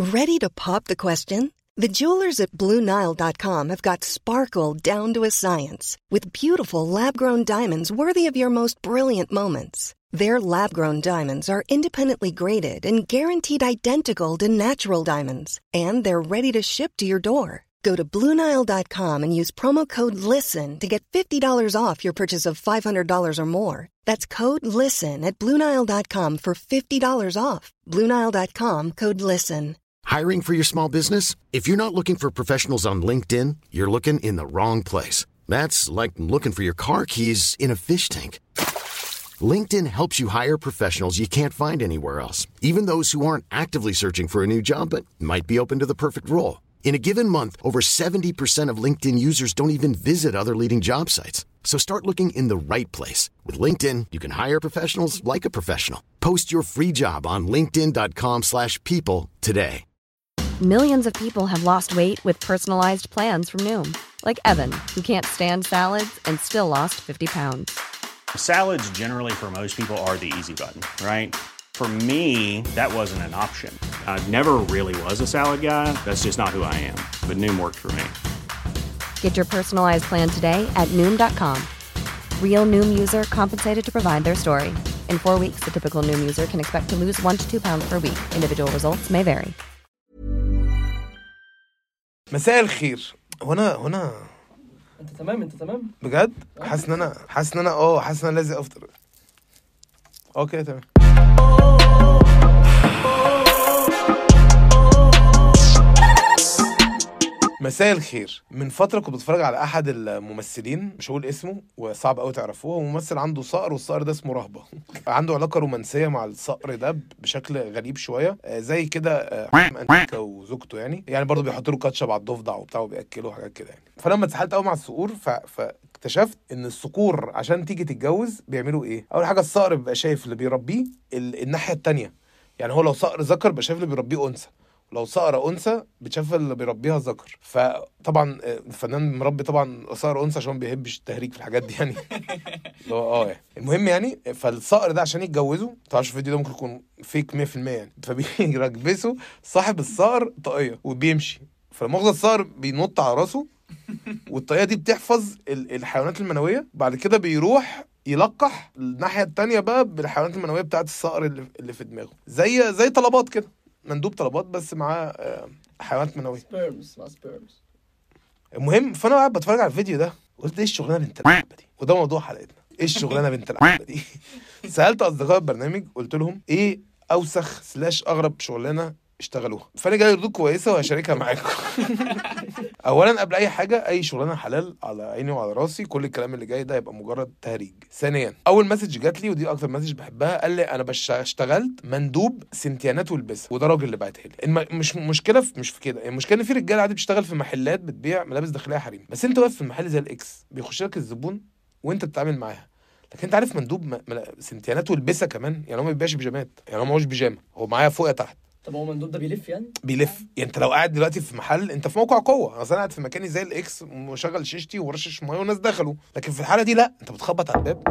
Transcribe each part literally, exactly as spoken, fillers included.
Ready to pop the question? The jewelers at Blue Nile dot com have got sparkle down to a science with beautiful lab-grown diamonds worthy of your most brilliant moments. Their lab-grown diamonds are independently graded and guaranteed identical to natural diamonds, and they're ready to ship to your door. Go to Blue Nile dot com and use promo code LISTEN to get fifty dollars off your purchase of five hundred dollars or more. That's code LISTEN at Blue Nile dot com for fifty dollars off. Blue Nile dot com, code LISTEN. Hiring for your small business? If you're not looking for professionals on LinkedIn, you're looking in the wrong place. That's like looking for your car keys in a fish tank. LinkedIn helps you hire professionals you can't find anywhere else, even those who aren't actively searching for a new job but might be open to the perfect role. In a given month, over seventy percent of LinkedIn users don't even visit other leading job sites. So start looking in the right place. With LinkedIn, you can hire professionals like a professional. Post your free job on linkedin dot com slash people today. Millions of people have lost weight with personalized plans from Noom. Like Evan, who can't stand salads and still lost fifty pounds. Salads generally for most people are the easy button, right? For me, that wasn't an option. I never really was a salad guy. That's just not who I am. But Noom worked for me. Get your personalized plan today at Noom dot com. Real Noom user compensated to provide their story. In four weeks, the typical Noom user can expect to lose one to two pounds per week. Individual results may vary. مساء الخير. هنا هنا انت تمام انت تمام بجد. حاسس ان انا حاسس ان انا اه حاسس ان انا لازم افطر. اوكي تمام. مساء الخير. من فترة كنت بتفرج على أحد الممثلين، مش هقول اسمه وصعب قوي تعرفوه، هو ممثل عنده صقر والصقر ده اسمه رهبة. عنده علاقة رومانسية مع الصقر ده بشكل غريب شوية، زي كده وزوجته يعني يعني برضه بيحطوا له كاتشب على الضفدع وبتاع وبيأكلوا حاجات كده يعني. فلما اتسحلت قوي مع الصقور ف... فاكتشفت إن الصقور عشان تيجي تتجوز بيعملوا إيه؟ أول حاجة الصقر بيبقى شايف اللي بيربيه ال... الناحية التانية، يعني هو لو صقر ذكر بيبقى شايف اللي بيربيه أنثى، لو صقر أنثى بتشاف اللي بيربيها ذكر. فطبعا الفنان مربي طبعا صقر أنثى عشان ما بيحبش التهريج في الحاجات دي يعني. اه يعني المهم يعني فالصقر ده عشان يتجوزوا، طبعا الفيديو ده ممكن يكون فيك مية في المية يعني، فبيركبسوا صاحب الصقر طاقية وبيمشي، فالمغزى الصقر بينط على راسه والطاقية دي بتحفظ الحيوانات المنوية. بعد كده بيروح يلقح الناحية التانية بقى بالحيوانات المنوية بتاعت الصقر اللي في دماغه، زي زي طلبات كده، مندوب طلبات بس مع حيوانات منويه، سبيرمز مع سبيرمز. المهم فانا قاعد بتفرج على الفيديو ده قلت ايه الشغلانه بنت اللعبه دي، وده موضوع حلقتنا، ايه الشغلانه بنت اللعبه دي. سالت اصدقاء البرنامج قلت لهم ايه اوسخ سلاش اغرب شغلانه اشتغلوها، فانا جاي ردود كويسه وهشاركها معاكم. اولا قبل اي حاجه، اي شغلانه حلال على عيني وعلى راسي، كل الكلام اللي جاي ده يبقى مجرد تهريج. ثانيا اول مسج جات لي ودي اكتر مسج بحبها، قال لي انا اشتغلت مندوب سنتيانات والبسه، وده راجل اللي بعتها لي. الم... مش مشكله في... مش في كده، المشكله ان في رجاله عادي بتشتغل في محلات بتبيع ملابس داخليه حريمي، بس انت واقف في المحل زي الاكس بيخش لك الزبون وانت بتتعامل معاها، لكن انت عارف مندوب م... مل... سنتيانات والبسه كمان، يعني هو ما بيبيعش بيجامات، يعني هو ما هوش بيجامه، هو معايا فوق يا تحت. طب هو مندوب ده بيلف يعني؟ بيلف يعني انت لو قاعد دلوقتي في محل، انت في موقع قوه، انا قاعد في مكاني زي الاكس ومشغل شيشتي ورشش ميه والناس دخلوا، لكن في الحاله دي لا، انت بتخبط على الباب،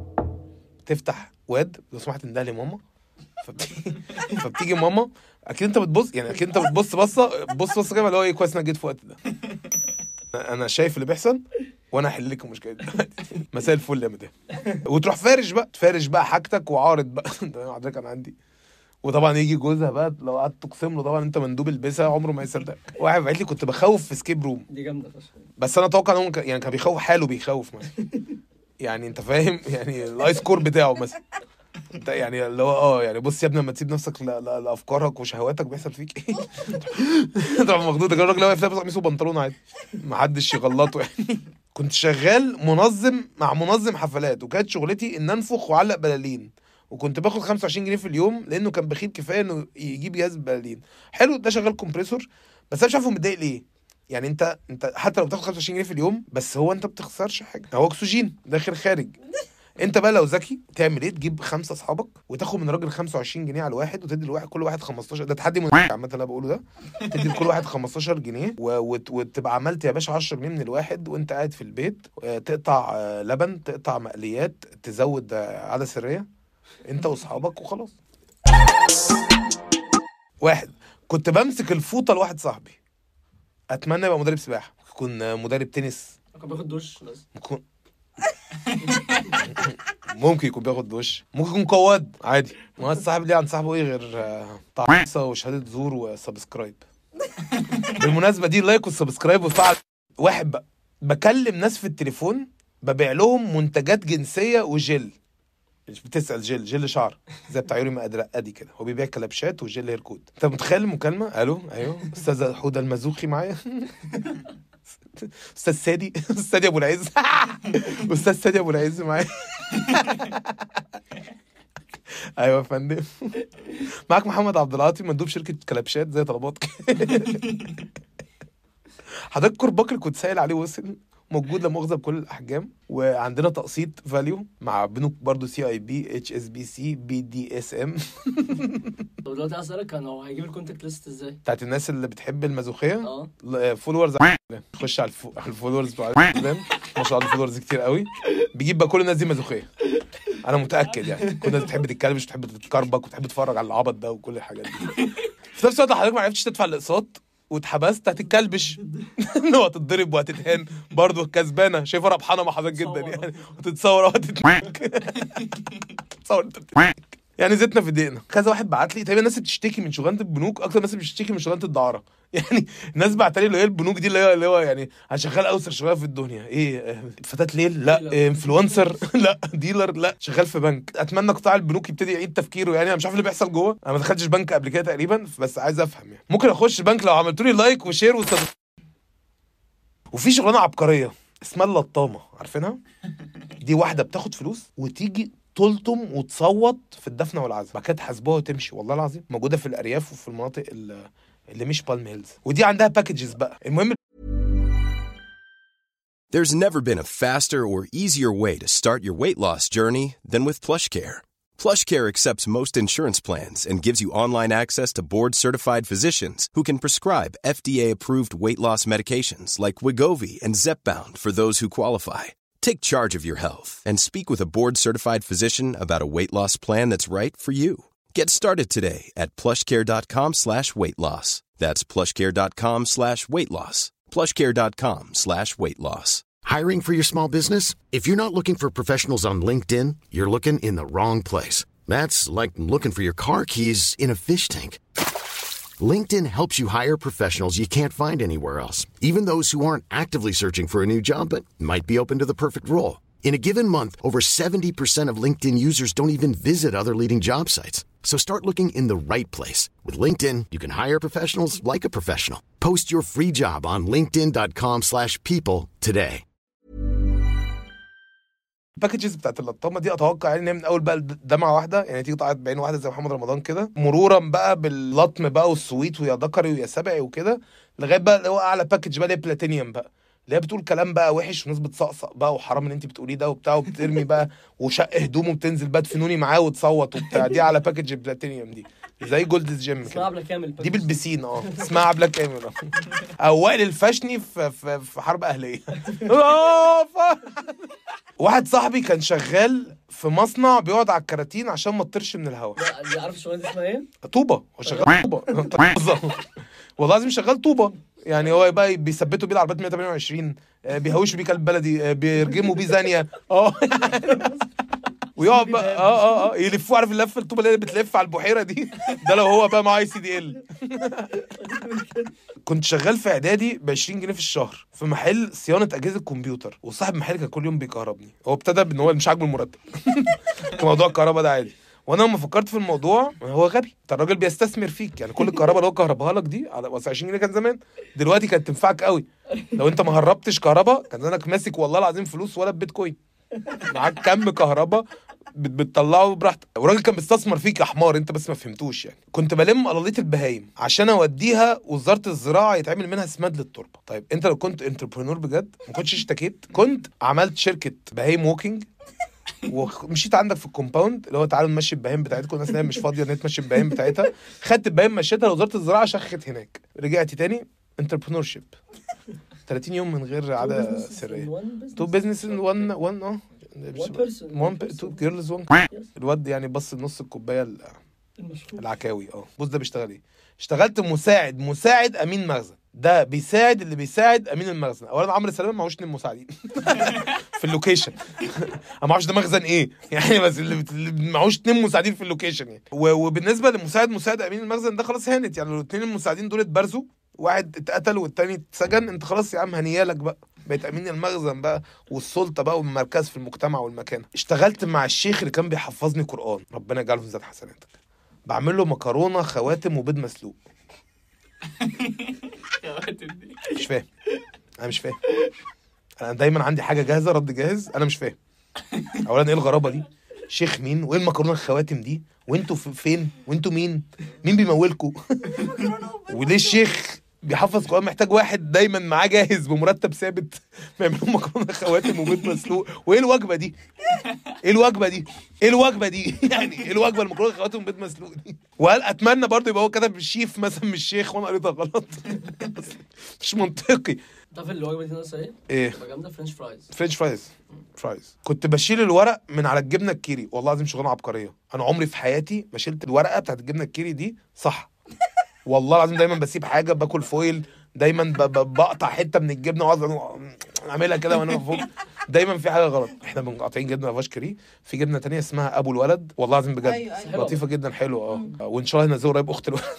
تفتح واد لو سمحت انده لي ماما، فبتيجي فبتيجي ماما، اكيد انت بتبص يعني اكيد انت بتبص بصه بص بص كده اللي هو ايه، كويس انك جيت في الوقت ده، انا شايف اللي بيحصل وانا هحل لكم المشكله دي. مساء الفل يا مدام. وتروح فارش بقى تفارش بقى حاجتك وعارض بقى. حضرتك انا عندي، وطبعا يجي جوزها بقى لو قعدت تقسم له طبعا انت مندوب البسها عمره ما يصدق. واحد قال لي كنت بخوف في سكيب روم، دي جامده فشخ، بس انا اتوقع ان هو يعني كان بيخوف حاله، بيخوف مثلا يعني انت فاهم يعني الايس كور بتاعه مثلا، انت يعني اللي هو اه يعني بص يا ابني لما تسيب نفسك لافكارك وشهواتك بيحصل فيك ايه. طبعا مخدود الراجل اللي واقف لابس قميص وبنطلون عادي ما حدش يغلطه يعني. كنت شغال منظم مع منظم حفلات، وكانت شغلتي ان انفخ واعلق بلالين، وكنت باخد خمسة وعشرين جنيه في اليوم لانه كان بخيل كفايه انه يجيب جهاز بلالين حلو. ده شغال كومبريسور، بس انا مش عارفه متضايق ليه يعني. انت انت حتى لو بتاخد خمسة وعشرين جنيه في اليوم، بس هو انت بتخسرش حاجه، هو اكسجين داخل خارج. انت بقى لو ذكي تعمل ايه؟ تجيب خمسه اصحابك وتاخد من راجل خمسة وعشرين جنيه على الواحد، وتدي الواحد كل واحد خمستاشر. ده تحدي من عامه انا بقوله ده، تدي لكل واحد خمستاشر جنيه وت... وتبقى عملت يا باشا عشرة جنيه من الواحد وانت قاعد في البيت، تقطع لبن، تقطع مقليات، تزود عاده سريه انت واصحابك وخلاص. واحد كنت بمسك الفوطه لواحد صاحبي. اتمنى يبقى مدرب سباحه، يكون مدرب تنس، كان بياخد دش بس ممكن ممكن يكون بياخد دش، ممكن يكون قواد عادي. ما الصاحب ليه عن صاحبه ايه غير طعيصه وشهاده زور وسبسكرايب. بالمناسبه دي لايك والسبسكرايب وفعل. واحد بقى بكلم ناس في التليفون ببيع لهم منتجات جنسيه وجل. بتسال جل جل شعر زي بتاع يوري مقدرة ادي كده، هو بيبيع كلبشات وجل هير كود. انت متخيل المكالمه؟ الو ايوه استاذه حوده المزوخي معايا؟ استاذ سادي استاذ سادي ابو العز استاذ سادي ابو العز معايا. ايوه يا فندم. معاك محمد عبد العاطي مندوب شركه كلبشات زي طلبات. حضرتك كرباك اللي كنت سائل عليه وصل، موجود لا مؤاخذه بكل الاحجام، وعندنا تقسيط فاليو مع بنوك برضو سي اي بي اتش اس بي سي بي دي اس ام. طب دلوقتي اسالك كان هو هيجيب الكونتاكت ليست ازاي بتاعت الناس اللي بتحب المازوخيه؟ اه فولورز. خش على الفو... على الفولورز بتوع الانستجرام، ما شاء الله الفولورز كتير قوي، بيجيب بقى كل الناس دي مازوخيه. انا متاكد يعني كل الناس بتحب تتكلم مش بتحب تتكربك وتحب تتفرج على العبط ده وكل الحاجات دي. في نفس الوقت حضرتك ما عرفتش تدفع الاقساط واتحبست، هتتكلبش انه هتتضرب وهتتهان برضه كسبانه. شايفه ربحانه مع حضرتك جدا يعني، وتتصور وهتتمك تصور انت بتتمك يعني. زيتنا في دقيقنا. كذا واحد بعت لي تقريبا الناس بتشتكي من شغلانه البنوك اكتر الناس بتشتكي من شغلانه الدعاره. يعني الناس بعت لي اللي هي البنوك دي اللي هي اللي هو يعني انا شغال اوسر شغال في الدنيا. ايه فتاه ليل؟ لا. انفلونسر؟ لا. ديلر؟ لا. شغال في بنك. اتمنى قطاع البنوك يبتدي يعيد تفكيره يعني. انا مش عارف اللي بيحصل جوه، انا ما دخلتش بنك قبل كده تقريبا، بس عايز افهم يعني. ممكن اخش بنك لو عملتوا لي لايك وشير وسب... وفي شغلانه عبقريه اسمها اللطامه، عارفينها؟ دي واحده بتاخد فلوس وتيجي تلطم وتصوت في الدفنه والعزاء، بعد كده تحاسبوها وتمشي. والله العظيم موجوده في الارياف وفي المناطق اللي مش بالم هيلز، ودي عندها باكجز بقى. المهم There's never been a faster or easier way to start your weight loss journey than with PlushCare. PlushCare accepts most insurance plans and gives you online access to board-certified physicians who can prescribe F D A-approved weight loss medications like Wegovy and Zepbound for those who qualify. Take charge of your health and speak with a board-certified physician about a weight loss plan that's right for you. Get started today at plushcare.com slash weight loss. That's plushcare.com slash weight loss. plushcare.com slash weight loss. Hiring for your small business? If you're not looking for professionals on LinkedIn, you're looking in the wrong place. That's like looking for your car keys in a fish tank. LinkedIn helps you hire professionals you can't find anywhere else, even those who aren't actively searching for a new job but might be open to the perfect role. In a given month, over seventy percent of LinkedIn users don't even visit other leading job sites. So start looking in the right place. With LinkedIn, you can hire professionals like a professional. Post your free job on linkedin.com slash people today. الباكجز بتاعت اللطامه دي اتوقع يعني من اول بقى دمعه واحده يعني، تيجي تقعد بعين واحده زي محمد رمضان كده، مرورا بقى باللطم بقى والسويت ويا ذكري ويا سبعي وكده، لغايه بقى اللي هو اعلى باكج بقى اللي بلاتينيوم بقى، اللي هي بتقول كلام بقى وحش وناس بتصقصق بقى وحرام اللي انت بتقوليه ده وبتاع، وبترمي بقى وشق هدومه وبتنزل بقى تفنوني معاه وتصوت وبتاع. دي على باكج بلاتينيوم دي زي جولدز جيم كده. اسمها عبله كامل دي بالبسين اه اسمها عبله كامل. او وائل الفشني في في, في حرب اهليه. واحد صاحبي كان شغال في مصنع بيقعد على الكراتين عشان ما تطيرش من الهواء. لا عارف الشغلانه دي اسمها ايه؟ طوبه. هو شغال طوبه. والله لازم شغال طوبه يعني. هو بقى بيثبتوا بيه العربيات مية وتمانية وعشرين، بيهوشوا بيه كلب بلدي، بيرجموا بيه زانيه اه ويقعد بقى اه اه اه يلفوا. عارف اللفه الطوبه اللي بتلف على البحيره دي؟ ده لو هو بقى معاه اي سي دي ال. كنت شغال في اعدادي ب عشرين جنيه في الشهر في محل صيانه اجهزه كمبيوتر، وصاحب المحل كان كل يوم بيكهربني. هو ابتدى بان هو مش عاجبه المرتب. موضوع الكهرباء ده عادي، وانا لما فكرت في الموضوع هو غبي. انت الراجل بيستثمر فيك يعني. كل الكهرباء اللي هو كهربها لك دي على عشرين جنيه كان زمان، دلوقتي كانت تنفعك قوي. لو انت ما هربتش كهرباء كان زمانك ماسك والله العظيم فلوس ولا بيتكوين، معاك كم كهرباء بتطلعه براحتك. والراجل كان بيستثمر فيك يا حمار، انت بس ما فهمتوش يعني. كنت بلم قلاليط البهايم عشان اوديها وزاره الزراعه يتعمل منها سماد للتربه. طيب انت لو كنت انتربرنور بجد ما كنتش اشتكيت، كنت عملت شركه بهايم ووكينج ومشيت عندك في الكومباوند اللي هو تعالوا نمشي البهايم بتاعتكم، الناس اللي مش فاضيه ان تمشي البهايم بتاعتها. خدت البهايم مشيتها لوزاره الزراعه شخت هناك، رجعت تاني انتربرنور شيب ثلاثين يوم من غير عاده سريه. تو بزنس ان وان وان اه وان تو جيرلز وان. الواد يعني بص نص الكوبايه العكاوي اه. بص ده بيشتغل ايه؟ اشتغلت مساعد مساعد امين مخزن. ده بيساعد اللي بيساعد امين المخزن. اولا عمرو سلامه معهوش اتنين مساعدين في اللوكيشن. انا ما اعرفش ده مخزن ايه يعني، بس اللي معهوش اتنين مساعدين في اللوكيشن يعني. وبالنسبه للمساعد مساعد امين المخزن ده خلاص هانت يعني، الاثنين المساعدين دول اتبرزوا، واحد اتقتل والتاني اتسجن، انت خلاص يا عم هنيالك بقى، بقيت امين المخزن بقى والسلطه بقى والمركز في المجتمع والمكان. اشتغلت مع الشيخ اللي كان بيحفظني قرآن، ربنا يجعله في ذات حسناتك. بعمل له مكرونه خواتم وبيض مسلوق. مش فاهم، انا مش فاهم. انا دايما عندي حاجه جاهزه، رد جاهز، انا مش فاهم. اولا ايه الغرابه دي؟ شيخ مين؟ وايه المكرونه الخواتم دي؟ وانتوا فين؟ وانتوا مين؟ مين بيمولكوا؟ وليه الشيخ بيحفظ قرآن محتاج واحد دايما معاه جاهز بمرتب ثابت بيعملوا مكرونه خواتم وبيض مسلوق؟ وايه الوجبه دي؟ ايه الوجبه دي؟ ايه الوجبه دي؟ يعني ايه الوجبه المكرونه خواتم وبيض مسلوق دي؟ وهل اتمنى برضه يبقى هو كتب الشيف مثلا مش الشيخ وانا قريتها غلط؟ مش منطقي. تعرف الوجبه دي ناقصه ايه؟ ايه؟ جامده، فرنش فرايز. فرنش فرايز فرايز كنت بشيل الورق من على الجبنه الكيري، والله العظيم شغلانه عبقريه. انا عمري في حياتي ما شلت الورقه بتاعت الجبنه الكيري دي صح، والله العظيم. دايما بسيب حاجه، باكل فويل، دايما بقطع حته من الجبنه واقعد اعملها كده وانا فوق، دايما في حاجه غلط. احنا بنقاطعين جبنه لافاش كري، في جبنه تانية اسمها ابو الولد، والله العظيم بجد أيوة أيوة. لطيفه جدا، حلوه اه، وان شاء الله هنزل قريب اخت الولد.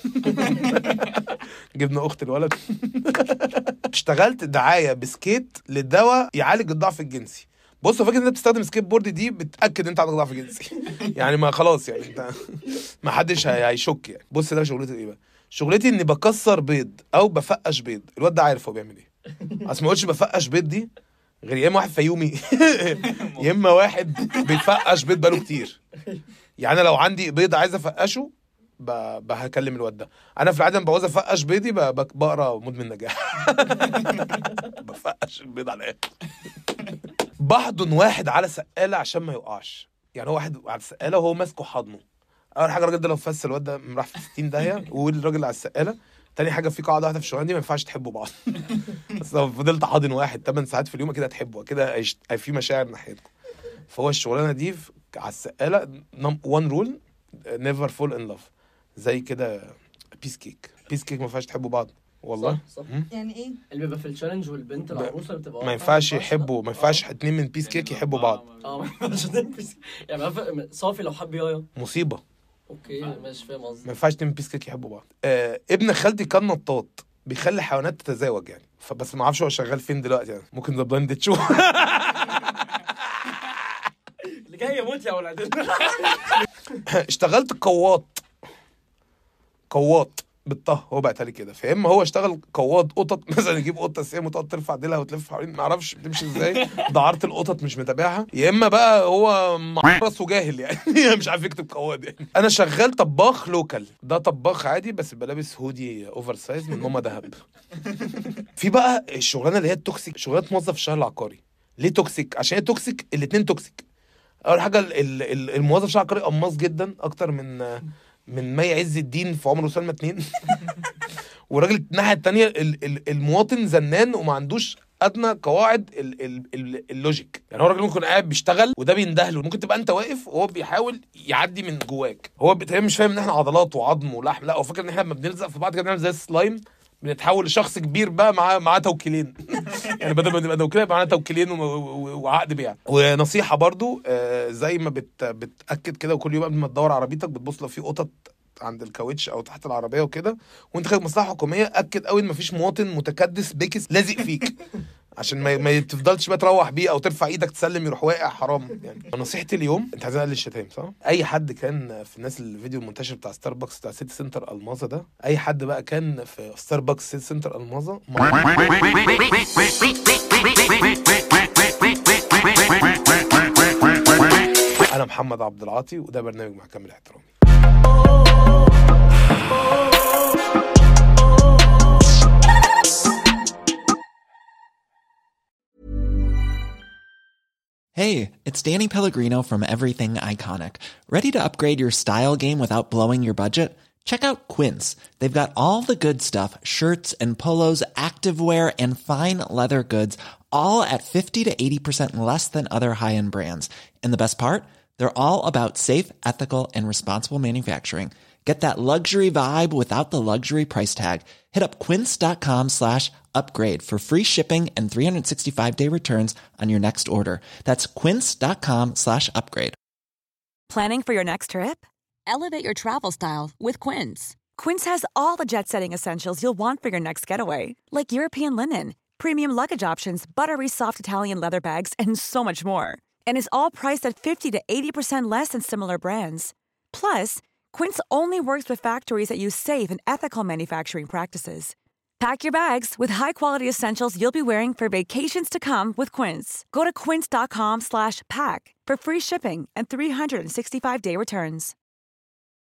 جبنه اخت الولد. اشتغلت دعايه بسكيت للدواء يعالج الضعف الجنسي. بص، فاكر ان انت بتستخدم سكيت بورد دي بتاكد ان انت عندك ضعف جنسي يعني، ما خلاص يعني انت ما حدش هيشك يعني. بص ده شغلتي ايه بقى؟ شغلتي اني بكسر بيض او بفقش بيض. الواد ده عارف هو بيعمل ايه. اصل ما قلتش بفقش بيض دي غير يا اما واحد فيومي يا اما واحد بيفقش بيض بقاله كتير. يعني لو عندي بيض عايز افقشه بهكلم الواد ده. انا في العاده لما بعوز افقش بيضي بقرا مدمن نجاح. بفقش البيض على ايه. بحضن واحد على سقاله عشان ما يقعش. يعني هو واحد على السقاله وهو ماسكه حضنه. اول حاجه الراجل ده لو فس الواد ده راح في ستين داهيه، والراجل على السقاله. تاني حاجه في قاعده واحده في الشغلانه دي، ما ينفعش تحبوا بعض. بس لو فضلت حاضن واحد ثمان ساعات في اليوم كده هتحبوا، كده في مشاعر ناحيتكم. فهو الشغلانه دي على السقاله وان رول نيفر فول ان لاف، زي كده بيس كيك. بيس كيك ما ينفعش تحبوا بعض والله. صح, صح. يعني ايه اللي بيبقى في التشالنج والبنت العروسه اللي بتبقى ما ينفعش يحبوا، ما ينفعش اتنين من بيس كيك يحبوا بعض. اه ما ينفعش اتنين بيس يعني صافي لو حب يايا مصيبه. اوكي ماشي فاهم قصدي. ما ينفعش اتنين من بيس كيك يحبوا بعض. آه ابن خالتي كان نطاط بيخلي حيوانات تتزاوج يعني، فبس ما اعرفش هو شغال فين دلوقتي يعني، ممكن ذا بلايند تشوف. اللي جاي يموت يا ولاد. اشتغلت قواط قواط بالطه، هو بقى تالي كده. فاما هو اشتغل قواط قطط مثلا، يجيب قطه سيم وتقعد ترفع ديلها وتلف حوالين، ما اعرفش بتمشي ازاي، دعاره القطط مش متابعها. يا اما بقى هو معرس وجاهل يعني مش عارف يكتب قواط يعني. انا شغال طباخ لوكال، ده طباخ عادي بس بلابس هودي اوفر سايز من ماما دهب. في بقى الشغلانه اللي هي التوكسيك، شغلانه موظف الشهر العقاري. ليه توكسيك؟ عشان هي توكسيك، الاثنين توكسيك. اول حاجه الموظف الشهر العقاري قماص جدا، اكتر من من مي عز الدين في عمر وسلمى اتنين. والراجل الناحيه الثانيه المواطن زنان وما عندوش ادنى قواعد ال ال ال اللوجيك. يعني هو الراجل ممكن قاعد بيشتغل وده بيندهله، ممكن تبقى انت واقف وهو بيحاول يعدي من جواك. هو بتهيألي مش فاهم ان احنا عضلات وعظم ولحم، لا هو فاكر ان احنا لما بنلزق في بعض كده بنعمل زي السلايم، بنتحول لشخص كبير بقى معاه معاه توكيلين. يعني بدل ما نبقى توكيلين يبقى معانا توكيلين وعقد بيع. ونصيحه برضو آه زي ما بت بتاكد كده، وكل يوم قبل ما تدور عربيتك بتبص لو في قطط عند الكاوتش او تحت العربيه وكده، وانت خارج مصلحه حكوميه اكد قوي ان مفيش مواطن متكدس بيكس لازق فيك، عشان ما ما تفضلش بقى تروح بيه او ترفع ايدك تسلم يروح واقع، حرام يعني. نصيحتي اليوم، انت عايزين نقلل الشتايم صح؟ اي حد كان في الناس الفيديو المنتشر بتاع ستاربكس بتاع سيتي سنتر الماظة ده، اي حد بقى كان في ستاربكس سيتي سنتر الماظة، انا محمد عبد العاطي وده برنامج محكمة الاحترام. Hey, it's Danny Pellegrino from Everything Iconic. Ready to upgrade your style game without blowing your budget? Check out Quince. They've got all the good stuff, shirts and polos, activewear, and fine leather goods, all at fifty to eighty percent less than other high-end brands. And the best part? They're all about safe, ethical, and responsible manufacturing. Get that luxury vibe without the luxury price tag. Hit up quince.com slash upgrade for free shipping and three sixty-five day returns on your next order. That's quince.com slash upgrade. Planning for your next trip? Elevate your travel style with Quince. Quince has all the jet-setting essentials you'll want for your next getaway, like European linen, premium luggage options, buttery soft Italian leather bags, and so much more. And is all priced at fifty to eighty percent less than similar brands. Plus, Quince only works with factories that use safe and ethical manufacturing practices. Pack your bags with high-quality essentials you'll be wearing for vacations to come with Quince. Go to quince.com slash pack for free shipping and three sixty-five day returns.